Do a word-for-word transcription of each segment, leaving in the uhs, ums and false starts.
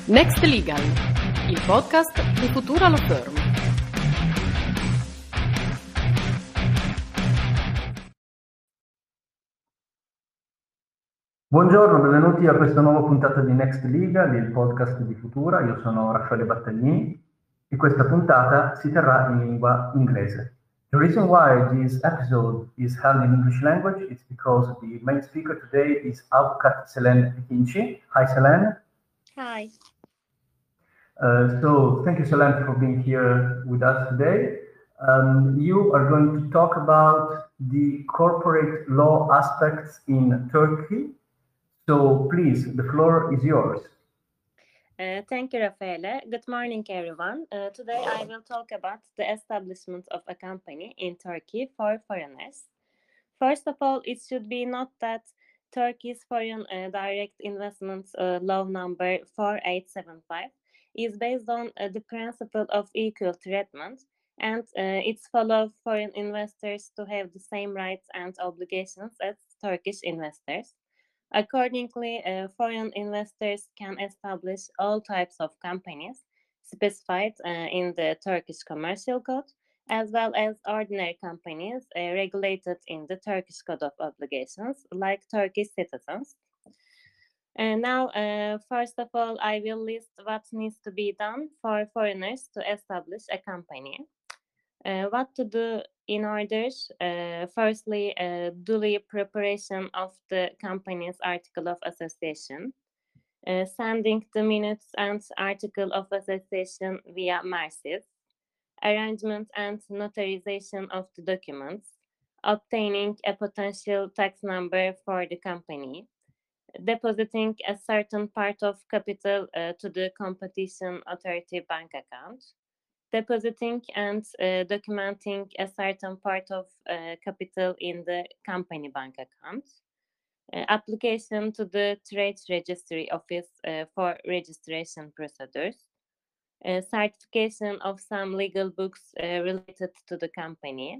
Next Legal, il podcast di Futura Law Firm. Buongiorno, benvenuti a questa nuova puntata di Next Legal, il podcast di Futura. Io sono Raffaele Battaglini e questa puntata si terrà in lingua inglese. The reason why this episode is held in English language is because the main speaker today is Avukat Selene Ekinci. Hi, Selene. Hi. Uh, so, thank you, Selene, for being here with us today. Um, you are going to talk about the corporate law aspects in Turkey. So please, the floor is yours. Uh, thank you, Raffaele. Good morning, everyone. Uh, today I will talk about the establishment of a company in Turkey for foreigners. First of all, it should be noted that Turkey's Foreign uh, Direct Investment uh, Law number four eight seven five is based on uh, the principle of equal treatment, and uh, it follows foreign investors to have the same rights and obligations as Turkish investors. Accordingly, uh, foreign investors can establish all types of companies specified uh, in the Turkish Commercial Code, as well as ordinary companies uh, regulated in the Turkish Code of Obligations, like Turkish citizens. And now, uh, first of all, I will list what needs to be done for foreigners to establish a company. Uh, what to do in order, uh, firstly, uh, duly preparation of the company's article of association, uh, sending the minutes and article of association via MARSIS, arrangement and notarization of the documents, obtaining a potential tax number for the company, depositing a certain part of capital uh, to the competition authority bank account, depositing and uh, documenting a certain part of uh, capital in the company bank account, uh, application to the Trade Registry Office uh, for registration procedures, uh, certification of some legal books uh, related to the company,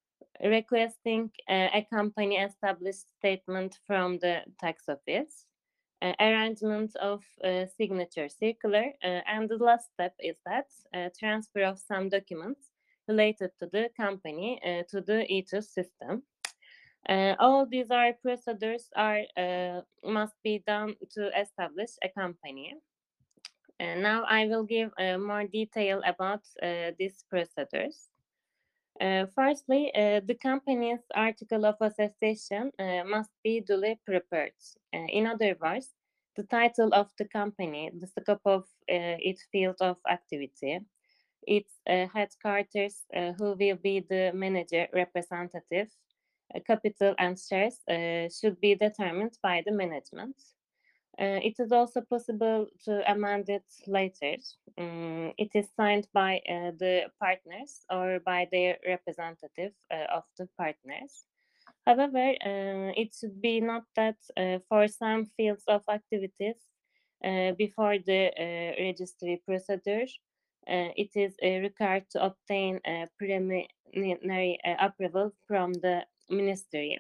requesting uh, a company established statement from the tax office, uh, arrangement of uh, signature circular, uh, and the last step is that uh, transfer of some documents related to the company uh, to the E T U S system. Uh, all these are procedures are uh, must be done to establish a company. Uh, now I will give uh, more detail about uh, these procedures. Uh, firstly, uh, the company's article of association uh, must be duly prepared. Uh, in other words, the title of the company, the scope of uh, its field of activity, its uh, headquarters, uh, who will be the manager representative, uh, capital and shares uh, should be determined by the management. Uh, it is also possible to amend it later. Um, it is signed by uh, the partners or by their representative uh, of the partners. However, uh, it should be noted that uh, for some fields of activities, uh, before the uh, registry procedure, uh, it is uh, required to obtain a preliminary uh, approval from the ministry.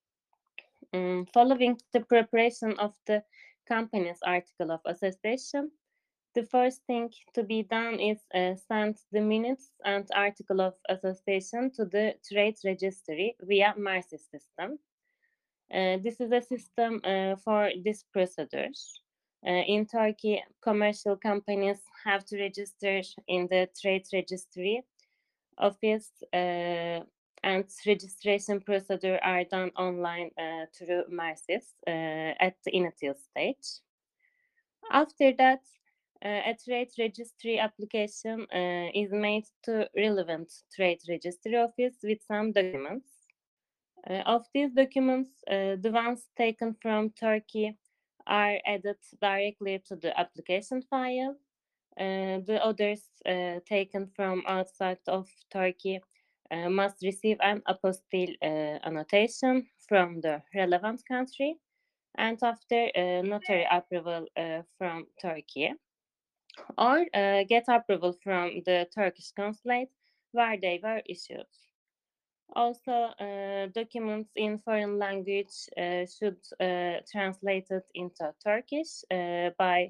Um, following the preparation of the company's article of association, the first thing to be done is uh, send the minutes and article of association to the trade registry via MARSIS system. Uh, this is a system uh, for this procedure. Uh, in Turkey, commercial companies have to register in the trade registry office, uh, and registration procedure are done online uh, through MARSIS uh, at the initial stage. After that, uh, a trade registry application uh, is made to relevant trade registry office with some documents. Uh, of these documents, uh, the ones taken from Turkey are added directly to the application file. Uh, the others uh, taken from outside of Turkey uh, must receive an apostille uh, annotation from the relevant country and after uh, notary approval uh, from Turkey, or uh, get approval from the Turkish consulate where they were issued. Also, uh, documents in foreign language uh, should uh, translate it into Turkish uh, by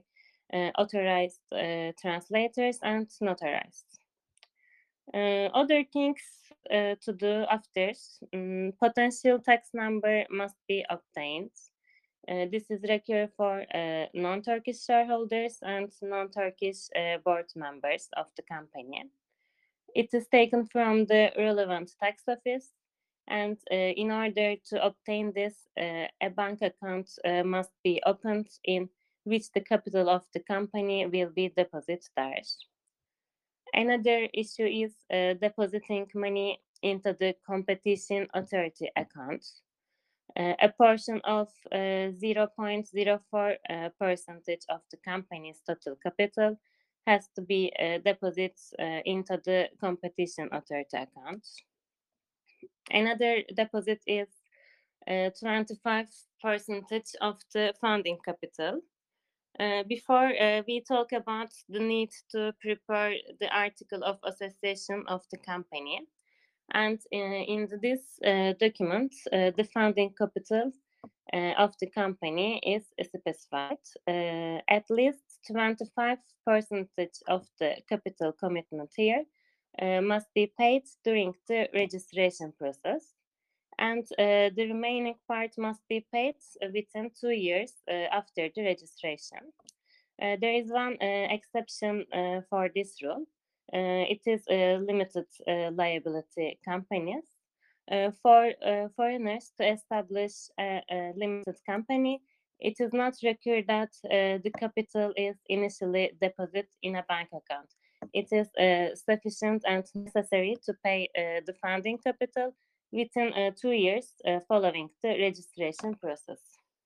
uh, authorized uh, translators, and notarized. Uh, other things uh, to do after, um, potential tax number must be obtained. Uh, this is required for uh, non-Turkish shareholders and non-Turkish uh, board members of the company. It is taken from the relevant tax office, and uh, in order to obtain this, uh, a bank account uh, must be opened in which the capital of the company will be deposited there. Another issue is uh, depositing money into the competition authority account. Uh, a portion of uh, zero point zero four uh, percentage of the company's total capital has to be uh, deposited uh, into the competition authority account. Another deposit is uh, twenty-five percentage of the funding capital. Uh, before uh, we talk about the need to prepare the article of association of the company, and uh, in this uh, document, uh, the funding capital uh, of the company is specified. Uh, at least twenty-five percent of the capital commitment here uh, must be paid during the registration process, and uh, the remaining part must be paid within two years uh, after the registration. Uh, there is one uh, exception uh, for this rule. Uh, it is uh, limited uh, liability companies. Uh, for uh, foreigners to establish a, a limited company, it is not required that uh, the capital is initially deposited in a bank account. It is uh, sufficient and necessary to pay uh, the funding capital within uh, two years uh, following the registration process.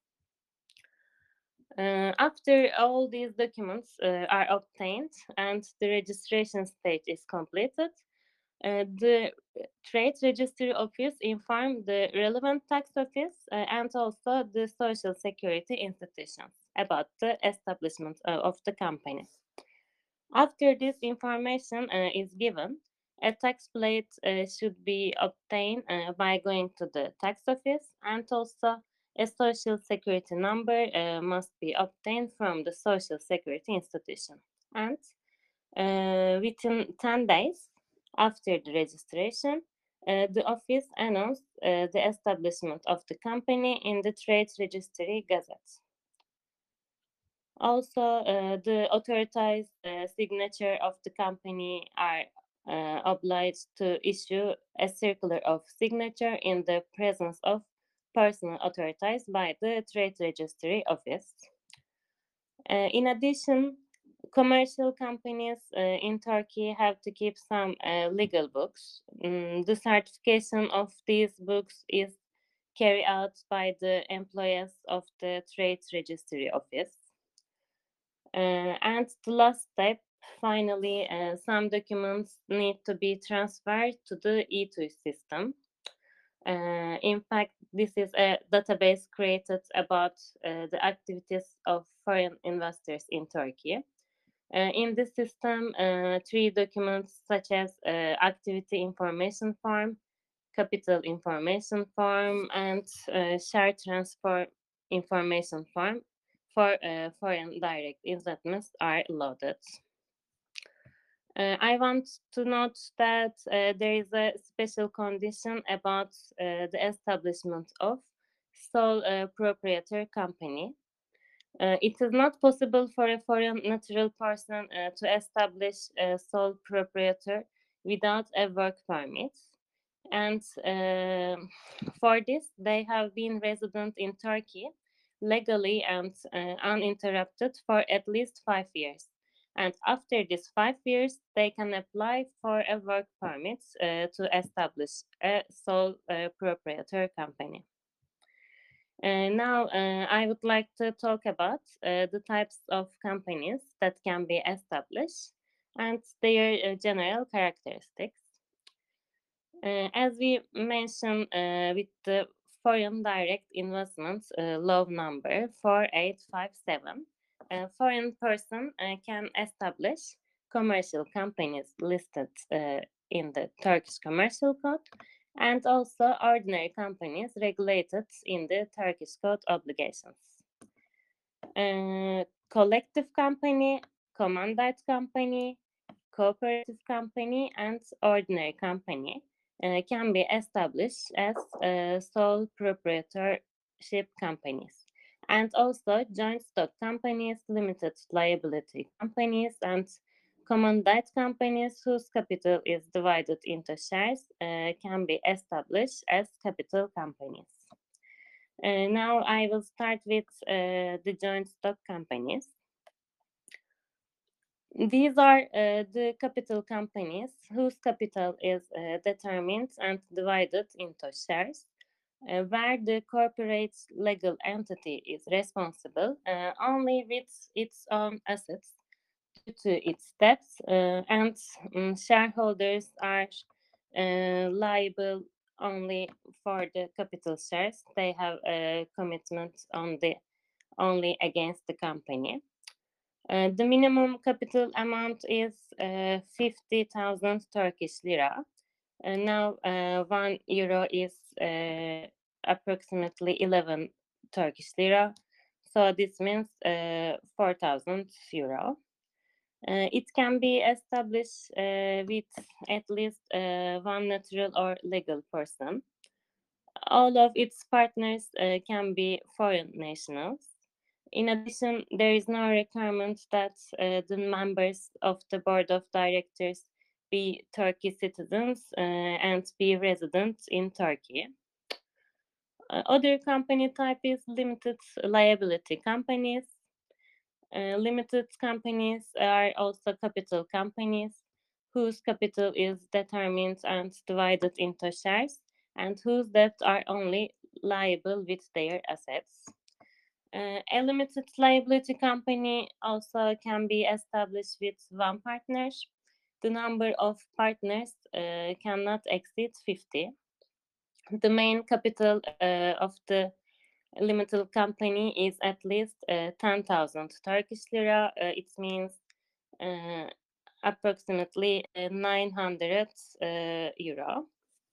Uh, after all these documents uh, are obtained and the registration stage is completed, uh, the Trade Registry Office informs the relevant tax office uh, and also the Social Security institutions about the establishment uh, of the company. After this information uh, is given, a tax plate uh, should be obtained uh, by going to the tax office, and also a social security number uh, must be obtained from the social security institution. And uh, within ten days after the registration, uh, the office announced uh, the establishment of the company in the Trade Registry Gazette. Also, uh, the authorized uh, signature of the company are uh, obliged to issue a circular of signature in the presence of personnel authorized by the Trade Registry Office. Uh, in addition, commercial companies uh, in Turkey have to keep some uh, legal books. Mm, the certification of these books is carried out by the employees of the Trade Registry Office. Uh, and the last step, finally, uh, some documents need to be transferred to the E two system. Uh, in fact, this is a database created about uh, the activities of foreign investors in Turkey. Uh, in this system, uh, three documents such as uh, activity information form, capital information form, and uh, share transfer information form for uh, foreign direct investments are loaded. Uh, I want to note that uh, there is a special condition about uh, the establishment of sole uh, proprietor company. Uh, it is not possible for a foreign natural person uh, to establish a sole proprietor without a work permit. And uh, for this, they have been resident in Turkey legally and uh, uninterrupted for at least five years. And after these five years, they can apply for a work permit uh, to establish a sole uh, proprietor company. Uh, now, uh, I would like to talk about uh, the types of companies that can be established and their uh, general characteristics. Uh, as we mentioned uh, with the foreign direct investments uh, law number four eight five seven, a foreign person uh, can establish commercial companies listed uh, in the Turkish Commercial Code, and also ordinary companies regulated in the Turkish Code obligations. Uh, collective company, commandite company, cooperative company, and ordinary company uh, can be established as uh, sole proprietorship companies, and also joint stock companies, limited liability companies, and commandite companies whose capital is divided into shares uh, can be established as capital companies. Uh, now I will start with uh, the joint stock companies. These are uh, the capital companies whose capital is uh, determined and divided into shares, uh, where the corporate legal entity is responsible uh, only with its own assets due to its debts, uh, and um, shareholders are uh, liable only for the capital shares they have a commitment on the only against the company. Uh, the minimum capital amount is uh, fifty thousand Turkish lira. Uh, now, uh, one euro is uh, approximately eleven Turkish lira. So this means uh, four thousand euro. Uh, it can be established uh, with at least uh, one natural or legal person. All of its partners uh, can be foreign nationals. In addition, there is no requirement that uh, the members of the board of directors be Turkish citizens uh, and be resident in Turkey. Uh, other company type is limited liability companies. Uh, limited companies are also capital companies whose capital is determined and divided into shares and whose debts are only liable with their assets. Uh, a limited liability company also can be established with one partner. The number of partners uh, cannot exceed fifty. The main capital uh, of the limited company is at least uh, ten thousand Turkish lira. Uh, it means uh, approximately uh, nine hundred uh, euro.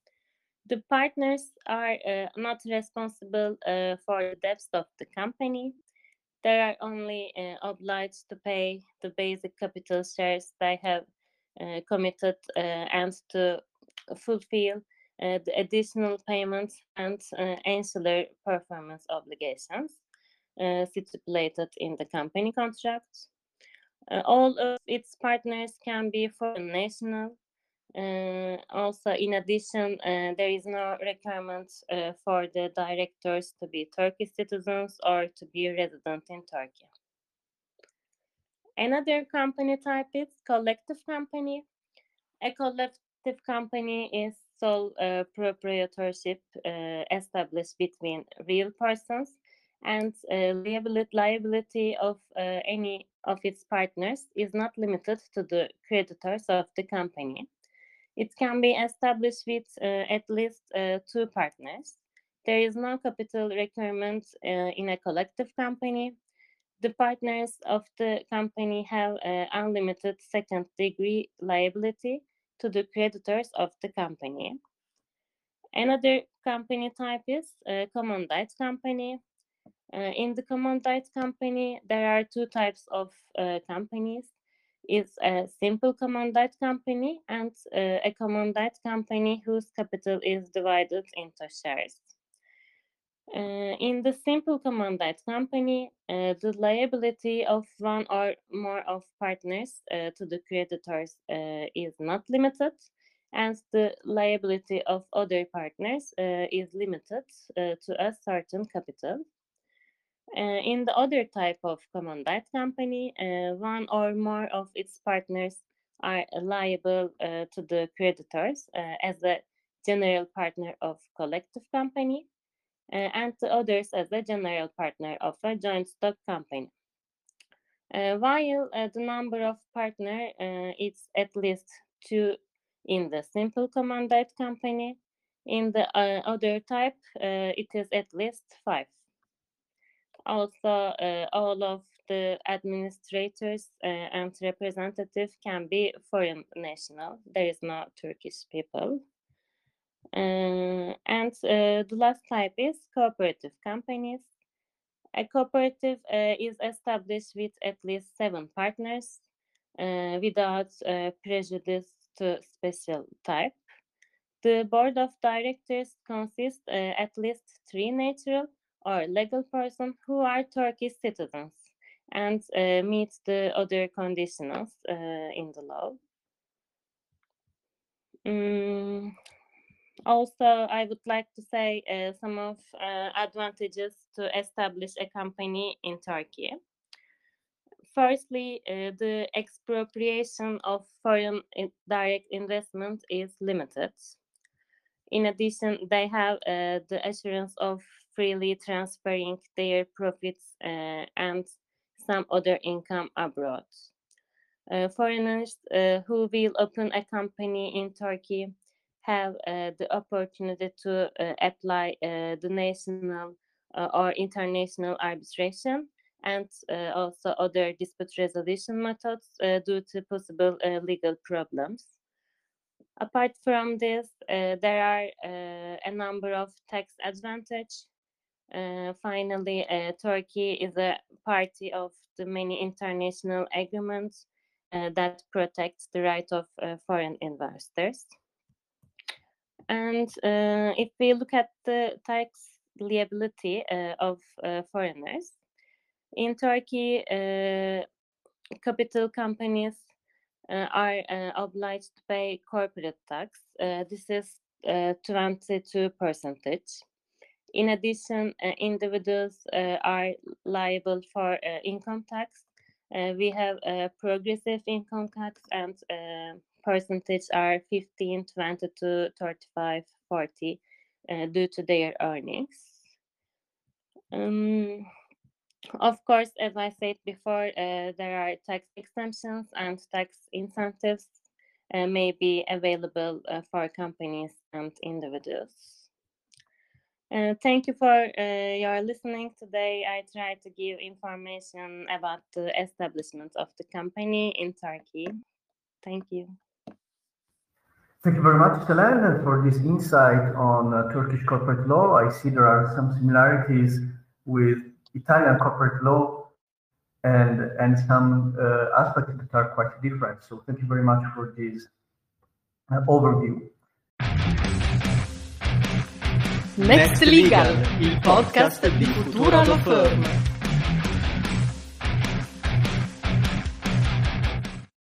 The partners are uh, not responsible uh, for the debts of the company. They are only uh, obliged to pay the basic capital shares they have uh, committed uh, and to fulfill uh, the additional payments and uh, ancillary performance obligations uh, stipulated in the company contract. Uh, all of its partners can be foreign national. Uh, also, in addition, uh, there is no requirement uh, for the directors to be Turkish citizens or to be resident in Turkey. Another company type is collective company. A collective company is sole uh, proprietorship uh, established between real persons, and uh, liability, liability of uh, any of its partners is not limited to the creditors of the company. It can be established with uh, at least uh, two partners. There is no capital requirement uh, in a collective company. The partners of the company have uh, unlimited second degree liability to the creditors of the company. Another company type is uh, commandite company. Uh, in the commandite company, there are two types of uh, companies. It's a simple commandite company and uh, a commandite company whose capital is divided into shares. Uh, in the simple commandite company, uh, the liability of one or more of partners uh, to the creditors uh, is not limited, and the liability of other partners uh, is limited uh, to a certain capital. Uh, in the other type of commandite company, uh, one or more of its partners are liable uh, to the creditors uh, as a general partner of collective company, uh, and the others as a general partner of a joint stock company. Uh, while uh, the number of partners uh, is at least two in the simple commandite company, in the uh, other type uh, it is at least five. Also, uh, all of the administrators uh, and representatives can be foreign national. There is no Turkish people. Uh, and uh, the last type is cooperative companies. A cooperative uh, is established with at least seven partners uh, without uh, prejudice to special type. The board of directors consists uh, at least three natural or legal persons who are Turkish citizens and uh, meet the other conditions uh, in the law. Mm. Also, I would like to say uh, some of uh, advantages to establish a company in Turkey. Firstly, uh, the expropriation of foreign in direct investment is limited. In addition, they have uh, the assurance of freely transferring their profits uh, and some other income abroad. Uh, foreigners uh, who will open a company in Turkey have uh, the opportunity to uh, apply uh, the national uh, or international arbitration and uh, also other dispute resolution methods uh, due to possible uh, legal problems. Apart from this, uh, there are uh, a number of tax advantages. Uh, finally, uh, Turkey is a party of the many international agreements uh, that protect the right of uh, foreign investors. And uh, if we look at the tax liability uh, of uh, foreigners, in Turkey, uh, capital companies uh, are uh, obliged to pay corporate tax. Uh, this is uh, twenty-two percent. In addition, uh, individuals uh, are liable for uh, income tax. Uh, we have a progressive income tax, and uh, percentage are fifteen, twenty-two, thirty-five, forty uh, due to their earnings. Um, of course, as I said before, uh, there are tax exemptions and tax incentives uh, may be available uh, for companies and individuals. Uh, thank you for uh, your listening today. I tried to give information about the establishment of the company in Turkey. Thank you. Thank you very much, Selen, for this insight on uh, Turkish corporate law. I see there are some similarities with Italian corporate law and, and some uh, aspects that are quite different. So thank you very much for this uh, overview. Next Legal, il podcast di Futura Law Firm.